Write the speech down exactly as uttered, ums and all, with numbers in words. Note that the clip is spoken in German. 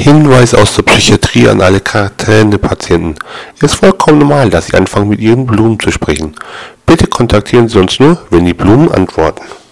Hinweis aus der Psychiatrie an alle Quarantänepatienten: Es ist vollkommen normal, dass Sie anfangen, mit Ihren Blumen zu sprechen. Bitte kontaktieren Sie uns nur, wenn die Blumen antworten.